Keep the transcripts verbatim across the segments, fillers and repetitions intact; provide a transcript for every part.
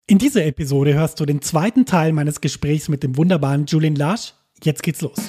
In dieser Episode hörst du den zweiten Teil meines Gesprächs mit dem wunderbaren Julian Lage. Jetzt geht's los.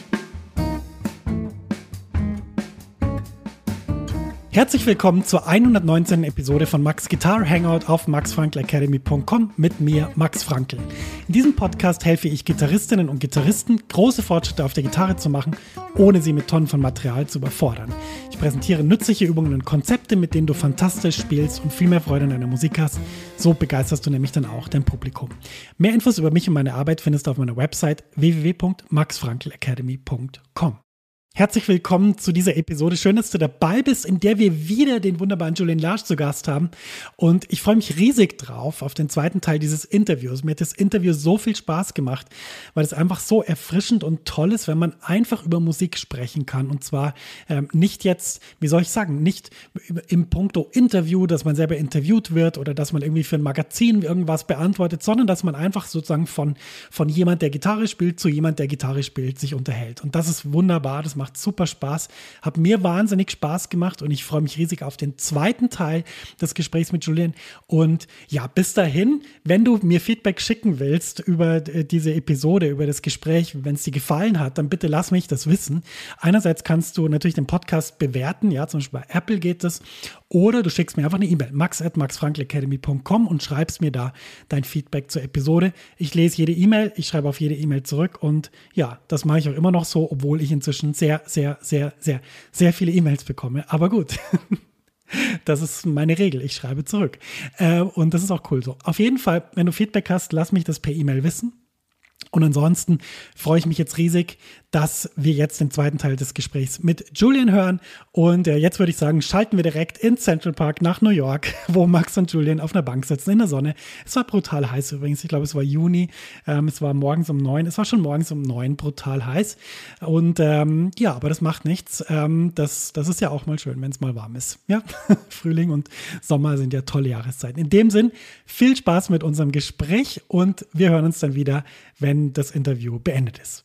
Herzlich willkommen zur hundertneunzehnten Episode von Max Guitar Hangout auf max frankl academy punkt com mit mir, Max Frankl. In diesem Podcast helfe ich Gitarristinnen und Gitarristen, große Fortschritte auf der Gitarre zu machen, ohne sie mit Tonnen von Material zu überfordern. Ich präsentiere nützliche Übungen und Konzepte, mit denen du fantastisch spielst und viel mehr Freude an deiner Musik hast. So begeisterst du nämlich dann auch dein Publikum. Mehr Infos über mich und meine Arbeit findest du auf meiner Website w w w punkt max frankl academy punkt com. Herzlich willkommen zu dieser Episode. Schön, dass du dabei bist, in der wir wieder den wunderbaren Julian Lage zu Gast haben. Und ich freue mich riesig drauf auf den zweiten Teil dieses Interviews. Mir hat das Interview so viel Spaß gemacht, weil es einfach so erfrischend und toll ist, wenn man einfach über Musik sprechen kann. Und zwar ähm, nicht jetzt, wie soll ich sagen, nicht im Punkto Interview, dass man selber interviewt wird oder dass man irgendwie für ein Magazin irgendwas beantwortet, sondern dass man einfach sozusagen von, von jemand, der Gitarre spielt, zu jemand, der Gitarre spielt, sich unterhält. Und das ist wunderbar, das macht super Spaß, hat mir wahnsinnig Spaß gemacht und ich freue mich riesig auf den zweiten Teil des Gesprächs mit Julian. Und ja, bis dahin, wenn du mir Feedback schicken willst über diese Episode, über das Gespräch, wenn es dir gefallen hat, dann bitte lass mich das wissen. Einerseits kannst du natürlich den Podcast bewerten, ja, zum Beispiel bei Apple geht das, oder du schickst mir einfach eine E-Mail, max at max frankl academy punkt com und schreibst mir da dein Feedback zur Episode. Ich lese jede E-Mail, ich schreibe auf jede E-Mail zurück und ja, das mache ich auch immer noch so, obwohl ich inzwischen sehr, sehr, sehr, sehr, sehr viele E-Mails bekomme. Aber gut, das ist meine Regel, ich schreibe zurück. Äh, und das ist auch cool so. Auf jeden Fall, wenn du Feedback hast, lass mich das per E-Mail wissen. Und ansonsten freue ich mich jetzt riesig, dass wir jetzt den zweiten Teil des Gesprächs mit Julian hören. Und äh, jetzt würde ich sagen, schalten wir direkt in Central Park nach New York, wo Max und Julian auf einer Bank sitzen in der Sonne. Es war brutal heiß übrigens. Ich glaube, es war Juni. Ähm, es war morgens um neun. Es war schon morgens um neun brutal heiß. Und ähm, ja, aber das macht nichts. Ähm, das, das ist ja auch mal schön, wenn es mal warm ist. Ja, Frühling und Sommer sind ja tolle Jahreszeiten. In dem Sinn, viel Spaß mit unserem Gespräch und wir hören uns dann wieder, wenn das Interview beendet ist.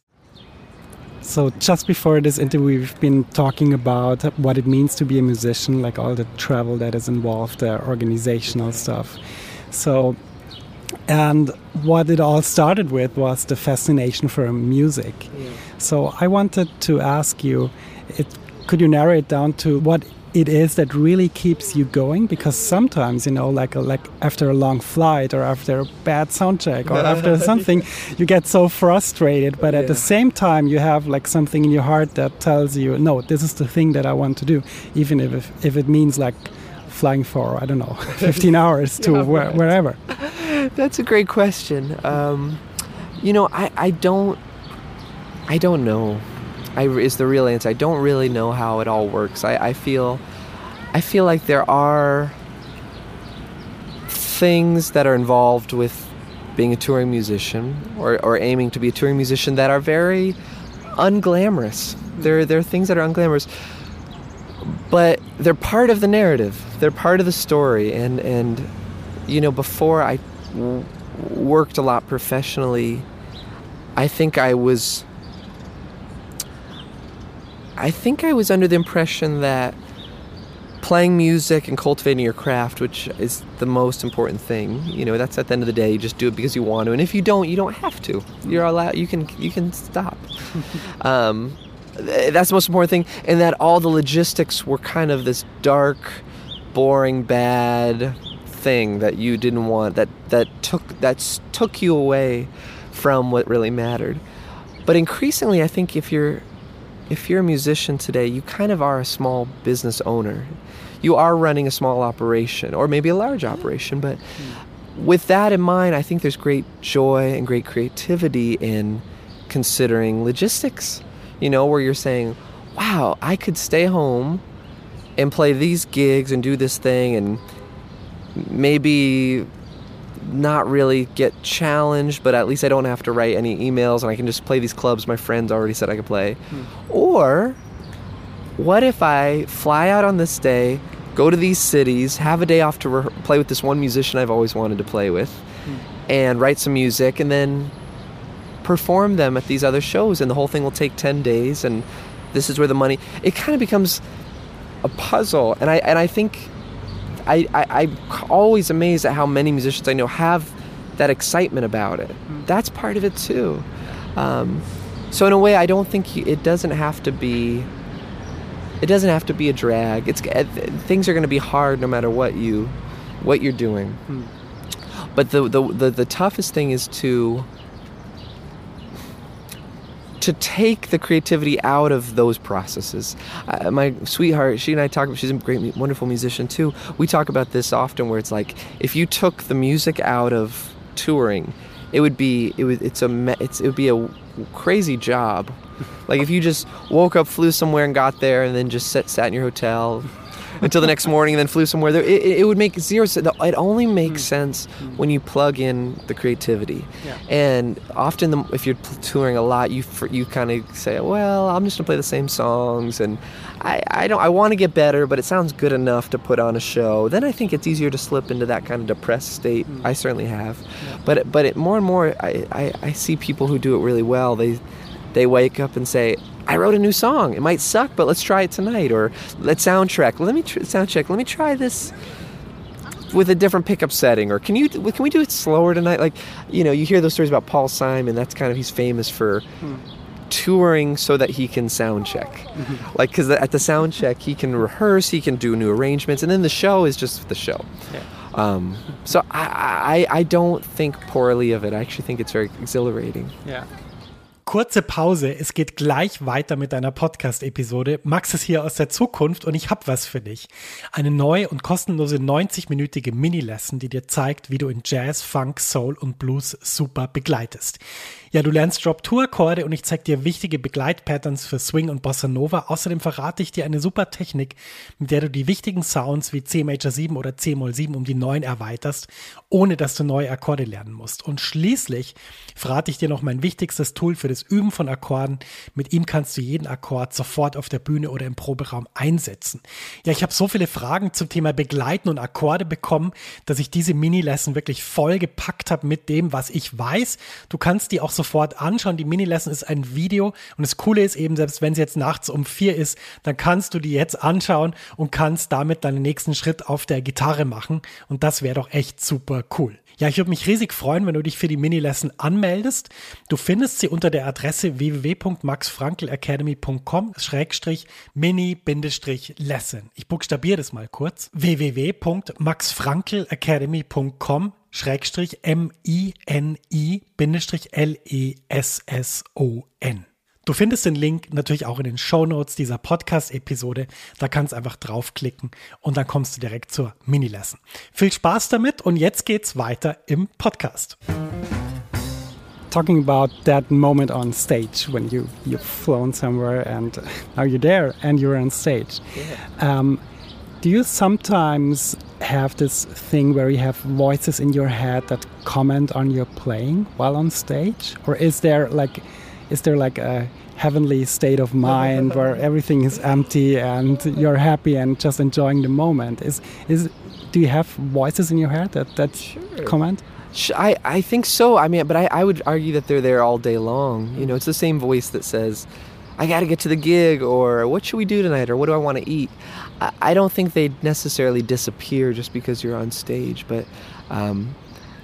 So just before this interview, we've been talking about what it means to be a musician, like all the travel that is involved, the organizational stuff. So, and what it all started with was the fascination for music. Yeah. So I wanted to ask you, it, could you narrow it down to what it is that really keeps you going? Because sometimes, you know, like a, like after a long flight or after a bad sound check or after something, you get so frustrated. But at yeah. the same time, you have like something in your heart that tells you, no, this is the thing that I want to do, even if if, if it means like flying for, I don't know, fifteen hours to yeah, where, right. wherever. That's a great question. Um, you know, I, I don't, I don't know. I, is the real answer. I don't really know how it all works. I, I feel I feel like there are things that are involved with being a touring musician or, or aiming to be a touring musician that are very unglamorous. There, there are things that are unglamorous, but they're part of the narrative. They're part of the story. And, and you know, before I w- worked a lot professionally, I think I was... I think I was under the impression that playing music and cultivating your craft, which is the most important thing, you know, that's at the end of the day, you just do it because you want to. And if you don't, you don't have to. You're allowed, you can, you can stop. um, that's the most important thing. And that all the logistics were kind of this dark, boring, bad thing that you didn't want, that, that took, that took you away from what really mattered. But increasingly, I think if you're, If you're a musician today, you kind of are a small business owner. You are running a small operation, or maybe a large operation, but with that in mind, I think there's great joy and great creativity in considering logistics, you know, where you're saying, wow, I could stay home and play these gigs and do this thing and maybe not really get challenged, but at least I don't have to write any emails and I can just play these clubs my friends already said I could play. Hmm. Or what if I fly out on this day, go to these cities, have a day off to re- play with this one musician I've always wanted to play with, hmm. and write some music and then perform them at these other shows, and the whole thing will take ten days, and this is where the money... It kind of becomes a puzzle, and I and I think I, I, I'm always amazed at how many musicians I know have that excitement about it. Mm. That's part of it too. Um, so in a way, I don't think you, it doesn't have to be. It doesn't have to be a drag. It's things are going to be hard no matter what you, what you're doing. Mm. But the, the the the toughest thing is to. to take the creativity out of those processes. Uh, my sweetheart, she and I talk about, she's a great, wonderful musician too. We talk about this often where it's like, if you took the music out of touring, it would be, it would, it's a, it's, it would be a crazy job. Like if you just woke up, flew somewhere and got there and then just sat, sat in your hotel until the next morning and then flew somewhere. There, it, it would make zero sense. It only makes mm. sense mm. when you plug in the creativity. Yeah. And often, the, if you're touring a lot, you you kind of say, "Well, I'm just gonna play the same songs," and I, I don't. I want to get better, but it sounds good enough to put on a show. Then I think it's easier to slip into that kind of depressed state. Mm. I certainly have, yeah. but but it, more and more, I, I I see people who do it really well. They they wake up and say, I wrote a new song. It might suck, but let's try it tonight. Or let's soundtrack. Let me tr- sound check. Let me try this with a different pickup setting. Or can you can we do it slower tonight? Like, you know, you hear those stories about Paul Simon. That's kind of, he's famous for hmm. touring so that he can sound check. Mm-hmm. Like, because at the sound check, he can rehearse, he can do new arrangements, and then the show is just the show. Yeah. Um, so I, I I don't think poorly of it. I actually think it's very exhilarating. Yeah. Kurze Pause, es geht gleich weiter mit einer Podcast-Episode. Max ist hier aus der Zukunft und ich hab was für dich. Eine neue und kostenlose neunzig-minütige Mini-Lesson, die dir zeigt, wie du in Jazz, Funk, Soul und Blues super begleitest. Ja, du lernst Drop-Two-Akkorde und ich zeig dir wichtige Begleitpatterns für Swing und Bossa Nova. Außerdem verrate ich dir eine super Technik, mit der du die wichtigen Sounds wie C Major sieben oder C Moll sieben um die neun erweiterst, ohne dass du neue Akkorde lernen musst. Und schließlich verrate ich dir noch mein wichtigstes Tool für das Üben von Akkorden. Mit ihm kannst du jeden Akkord sofort auf der Bühne oder im Proberaum einsetzen. Ja, ich habe so viele Fragen zum Thema Begleiten und Akkorde bekommen, dass ich diese Mini-Lesson wirklich voll gepackt habe mit dem, was ich weiß. Du kannst die auch sofort anschauen. Die Mini-Lesson ist ein Video und das Coole ist eben, selbst wenn sie jetzt nachts um vier ist, dann kannst du die jetzt anschauen und kannst damit deinen nächsten Schritt auf der Gitarre machen und das wäre doch echt super cool. Ja, ich würde mich riesig freuen, wenn du dich für die Mini-Lesson anmeldest. Du findest sie unter der Adresse w w w punkt max frankl academy punkt com schrägstrich mini-lesson. Ich buchstabiere das mal kurz. w w w punkt max frankl academy punkt com schrägstrich M I N I L E S S O N. Du findest den Link natürlich auch in den Shownotes dieser Podcast-Episode. Da kannst du einfach draufklicken und dann kommst du direkt zur Mini-Lesson. Viel Spaß damit und jetzt geht's weiter im Podcast. Talking about that moment on stage when you, you've flown somewhere and now you're there and you're on stage. Yeah. Um, do you sometimes have this thing where you have voices in your head that comment on your playing while on stage? Or is there like... Is there like a heavenly state of mind where everything is empty and you're happy and just enjoying the moment? Is is do you have voices in your head that, that sure. comment? I, I think so. I mean, but I, I would argue that they're there all day long. You know, it's the same voice that says, I got to get to the gig, or what should we do tonight, or what do I want to eat? I, I don't think they necessarily disappear just because you're on stage, but um,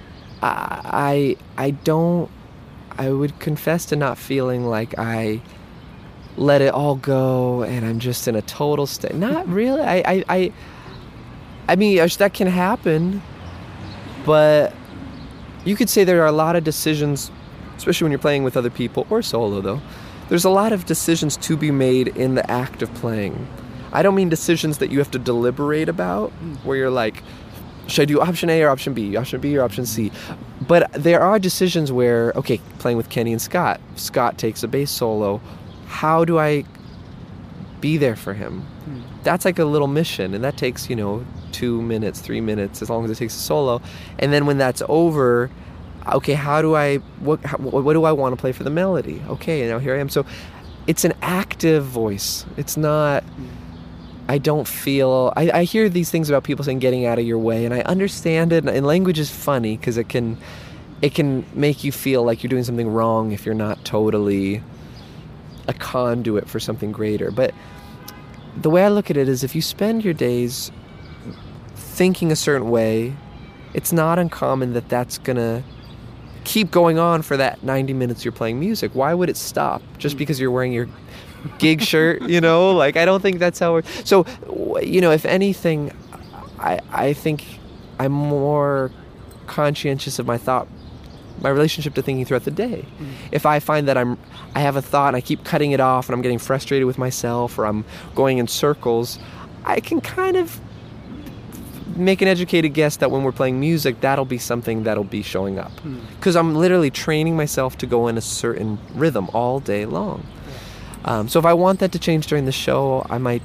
I, I I don't. I would confess to not feeling like I let it all go and I'm just in a total state. Not really. I, I, I, I mean, that can happen, but you could say there are a lot of decisions, especially when you're playing with other people or solo though. There's a lot of decisions to be made in the act of playing. I don't mean decisions that you have to deliberate about, where you're like, should I do option A or option B, option B or option C? But there are decisions where, okay, playing with Kenny and Scott, Scott takes a bass solo. How do I be there for him? Hmm. That's like a little mission, and that takes, you know, two minutes, three minutes, as long as it takes a solo. And then when that's over, okay, how do I, what, how, what do I want to play for the melody? Okay, now here I am. So it's an active voice. It's not... Hmm. I don't feel... I, I hear these things about people saying getting out of your way, and I understand it, and language is funny because it can it can make you feel like you're doing something wrong if you're not totally a conduit for something greater. But the way I look at it is if you spend your days thinking a certain way, it's not uncommon that that's going to keep going on for that ninety minutes you're playing music. Why would it stop just because you're wearing your gig shirt, you know? Like, I don't think that's how we're... So, you know, if anything, I, I think I'm more conscientious of my thought, my relationship to thinking throughout the day. Mm. If I find that I'm, I have a thought and I keep cutting it off and I'm getting frustrated with myself or I'm going in circles, I can kind of make an educated guess that when we're playing music, that'll be something that'll be showing up. Because mm. I'm literally training myself to go in a certain rhythm all day long. Um, so if I want that to change during the show, I might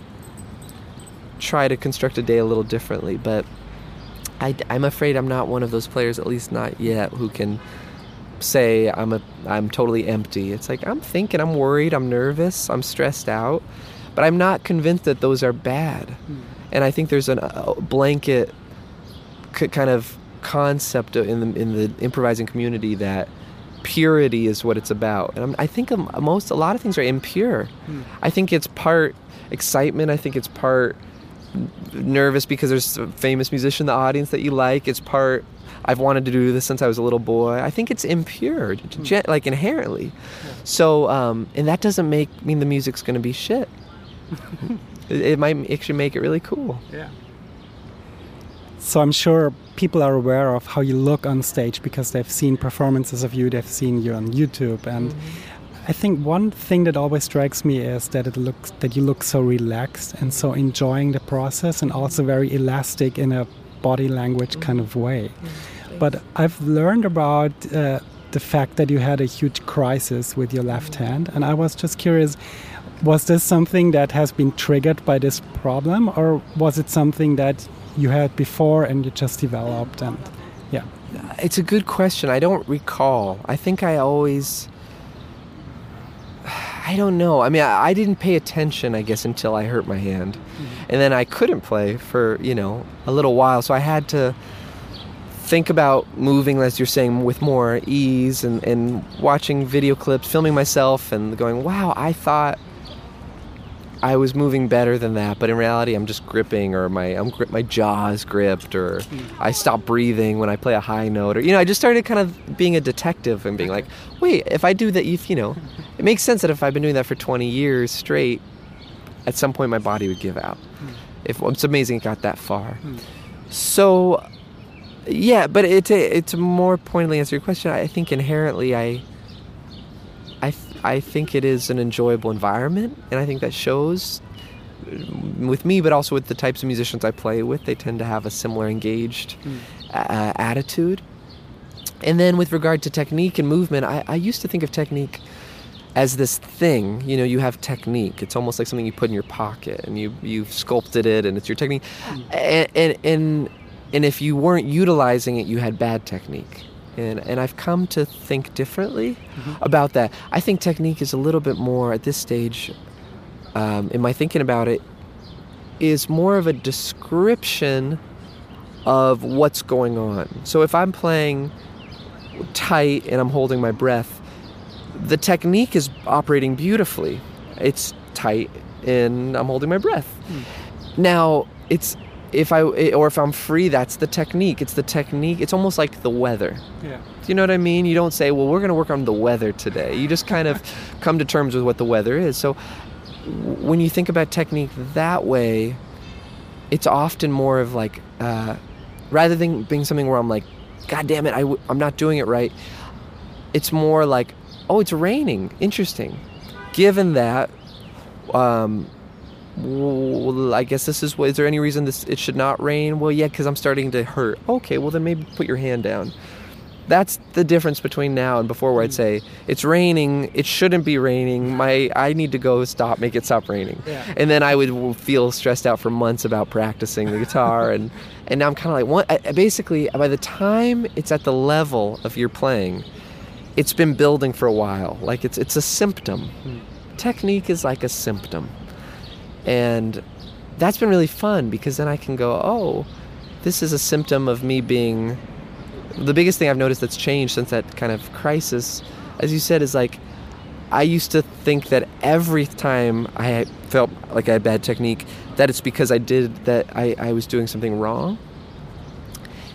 try to construct a day a little differently. But I, I'm afraid I'm not one of those players, at least not yet, who can say I'm a I'm totally empty. It's like I'm thinking, I'm worried, I'm nervous, I'm stressed out, but I'm not convinced that those are bad. Mm. And I think there's an, a blanket c- kind of concept in the in the improvising community that purity is what it's about. And I'm, I think most, a lot of things are impure. Hmm. I think it's part excitement. I think it's part nervous because there's a famous musician in the audience that you like. It's part, I've wanted to do this since I was a little boy. I think it's impure, hmm. like inherently. Yeah. So, um, and that doesn't make mean the music's going to be shit. it, it might actually make it really cool. Yeah. So I'm sure people are aware of how you look on stage because they've seen performances of you, they've seen you on YouTube, and mm-hmm. I think one thing that always strikes me is that it looks that you look so relaxed and so enjoying the process and also very elastic in a body language mm-hmm. kind of way. Mm-hmm. But I've learned about uh, the fact that you had a huge crisis with your left mm-hmm. hand, and I was just curious, was this something that has been triggered by this problem, or was it something that you had before and you just developed? And yeah, it's a good question. I don't recall. I think I always, I don't know. I mean, I, I didn't pay attention, I guess, until I hurt my hand. Mm-hmm. And then I couldn't play for, you know, a little while. So I had to think about moving, as you're saying, with more ease and, and watching video clips, filming myself and going, wow, I thought I was moving better than that, but in reality, I'm just gripping, or my I'm grip, my jaw is gripped, or I stop breathing when I play a high note, or you know, I just started kind of being a detective and being like, wait, if I do that, if you know, it makes sense that if I've been doing that for twenty years straight, at some point my body would give out. If it's amazing it got that far. So, yeah, but it to, it to more pointedly answer your question, I think inherently I. I th- I think it is an enjoyable environment, and I think that shows with me, but also with the types of musicians I play with. They tend to have a similar engaged mm. uh, attitude. And then with regard to technique and movement, I, I used to think of technique as this thing. You know, you have technique. It's almost like something you put in your pocket, and you, you've sculpted it, and it's your technique. Mm. And, and, and, and if you weren't utilizing it, you had bad technique. And and I've come to think differently mm-hmm. about that. I think technique is a little bit more, at this stage, um, in my thinking about it, is more of a description of what's going on. So if I'm playing tight and I'm holding my breath, the technique is operating beautifully. It's tight and I'm holding my breath. Mm. Now, it's... If I or if I'm free, that's the technique. It's the technique. It's almost like the weather. Yeah. Do you know what I mean? You don't say, well, we're going to work on the weather today. You just kind of come to terms with what the weather is. So when you think about technique that way, it's often more of like, uh, rather than being something where I'm like, God damn it, I w- I'm not doing it right. It's more like, oh, it's raining. Interesting. Given that, um, well, I guess this is, is there any reason this it should not rain? Well, yeah, because I'm starting to hurt. Okay, well then maybe put your hand down. That's the difference between now and before, where I'd say, it's raining, it shouldn't be raining, my I need to go stop, make it stop raining. Yeah. And then I would feel stressed out for months about practicing the guitar, and, and now I'm kind of like, what? I, basically, by the time it's at the level of your playing, it's been building for a while. Like it's it's a symptom. Hmm. Technique is like a symptom. And that's been really fun, because then I can go, oh, this is a symptom of me being... The biggest thing I've noticed that's changed since that kind of crisis, as you said, is like, I used to think that every time I felt like I had bad technique, that it's because I did, that I, I was doing something wrong.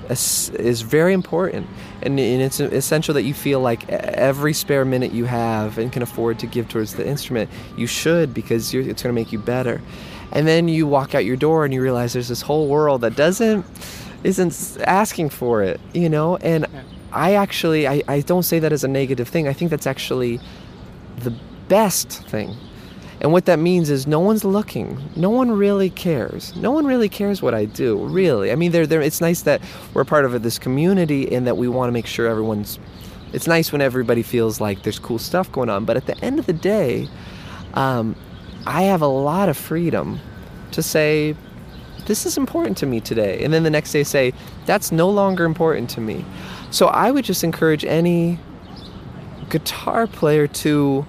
is very important, and, and it's essential that you feel like every spare minute you have and can afford to give towards the instrument, you should, because you're, it's going to make you better. And then you walk out your door and you realize there's this whole world that doesn't isn't asking for it, you know. And yeah. I actually I, I don't say that as a negative thing. I think that's actually the best thing. And what that means is no one's looking. No one really cares. No one really cares what I do, really. I mean, they're, they're, it's nice that we're part of this community and that we want to make sure everyone's... It's nice when everybody feels like there's cool stuff going on. But at the end of the day, um, I have a lot of freedom to say, this is important to me today. And then the next day say, that's no longer important to me. So I would just encourage any guitar player to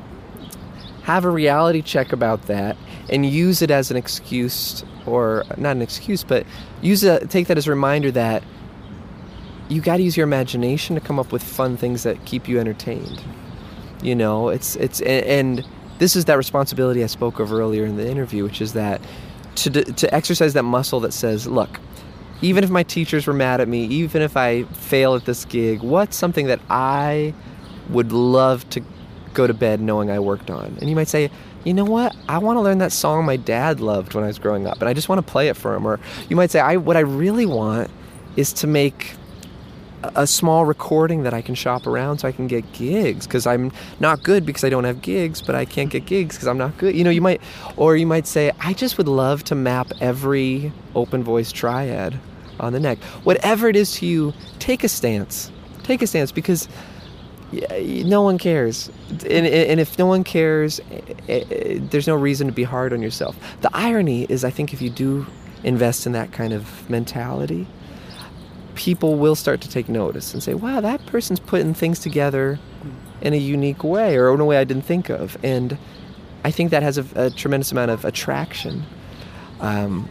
have a reality check about that and use it as an excuse, or not an excuse, but use it, take that as a reminder that you got to use your imagination to come up with fun things that keep you entertained. You know, it's it's and this is that responsibility I spoke of earlier in the interview, which is that to to exercise that muscle that says, look, even if my teachers were mad at me, even if I fail at this gig, what's something that I would love to go to bed knowing I worked on? And you might say, you know what, I want to learn that song my dad loved when I was growing up, and I just want to play it for him. Or you might say, I what I really want is to make a small recording that I can shop around so I can get gigs, because I'm not good because I don't have gigs, but I can't get gigs because I'm not good. You know, you might, or you might say, I just would love to map every open voice triad on the neck. Whatever it is to you, take a stance. Take a stance, because no one cares. And, and if no one cares, there's no reason to be hard on yourself. The irony is, I think if you do invest in that kind of mentality, people will start to take notice and say, wow, that person's putting things together in a unique way, or in a way I didn't think of. And I think that has a, a tremendous amount of attraction. Um,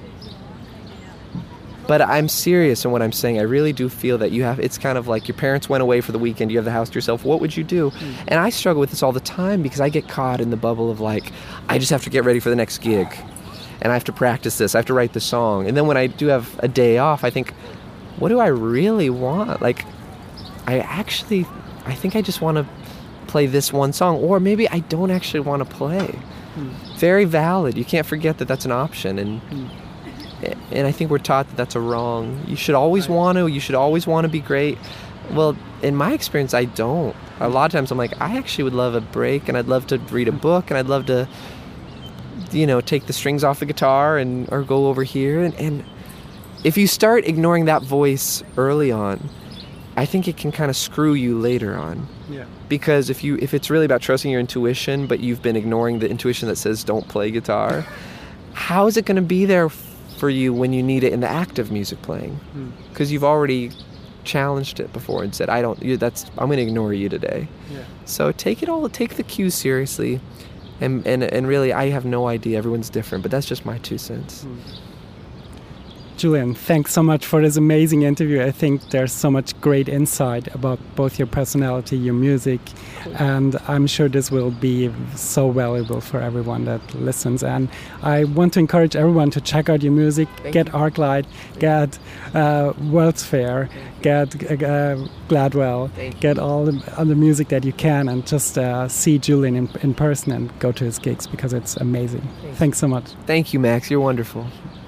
But I'm serious in what I'm saying. I really do feel that you have, it's kind of like your parents went away for the weekend, you have the house to yourself, what would you do? Mm. And I struggle with this all the time, because I get caught in the bubble of like, I just have to get ready for the next gig. And I have to practice this, I have to write the song. And then when I do have a day off, I think, what do I really want? Like, I actually, I think I just want to play this one song. Or maybe I don't actually want to play. Mm. Very valid. You can't forget that that's an option. And mm. And I think we're taught that that's a wrong. You should always want to. You should always want to be great. Well, in my experience, I don't. A lot of times I'm like, I actually would love a break, and I'd love to read a book, and I'd love to, you know, take the strings off the guitar and or go over here. And, and if you start ignoring that voice early on, I think it can kind of screw you later on. Yeah. Because if you if it's really about trusting your intuition, but you've been ignoring the intuition that says don't play guitar, how is it going to be there for you when you need it in the act of music playing? Because mm. you've already challenged it before and said, I don't, you, that's, I'm going to ignore you today. Yeah. So take it all, take the cues seriously. And, and, and really, I have no idea. Everyone's different, but that's just my two cents. Mm. Julian, thanks so much for this amazing interview. I think there's so much great insight about both your personality, your music, and I'm sure this will be so valuable for everyone that listens. And I want to encourage everyone to check out your music, Thank get you. Arclight, get uh, World's Fair, get uh, Gladwell, get all the, all the music that you can, and just uh, see Julian in, in person and go to his gigs, because it's amazing. Thanks. Thanks so much. Thank you, Max. You're wonderful.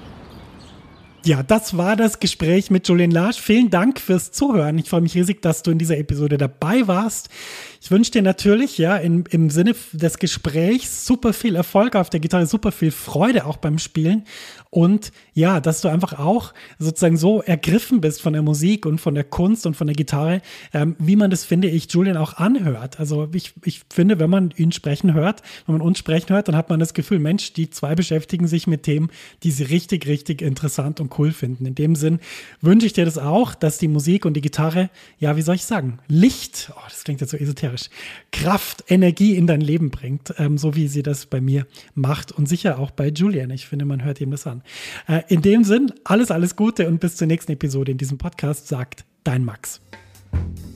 Ja, das war das Gespräch mit Julian Lage. Vielen Dank fürs Zuhören. Ich freue mich riesig, dass du in dieser Episode dabei warst. Ich wünsche dir natürlich, ja, in, im Sinne des Gesprächs super viel Erfolg auf der Gitarre, super viel Freude auch beim Spielen. Und ja, dass du einfach auch sozusagen so ergriffen bist von der Musik und von der Kunst und von der Gitarre, ähm, wie man das, finde ich, Julian auch anhört. Also ich, ich finde, wenn man ihn sprechen hört, wenn man uns sprechen hört, dann hat man das Gefühl, Mensch, die zwei beschäftigen sich mit Themen, die sie richtig, richtig interessant und cool finden. In dem Sinn wünsche ich dir das auch, dass die Musik und die Gitarre, ja, wie soll ich sagen, Licht, oh, das klingt jetzt so esoterisch, Kraft, Energie in dein Leben bringt, ähm, so wie sie das bei mir macht und sicher auch bei Julian. Ich finde, man hört ihm das an. Äh, in dem Sinn, alles, alles Gute und bis zur nächsten Episode in diesem Podcast, sagt dein Max.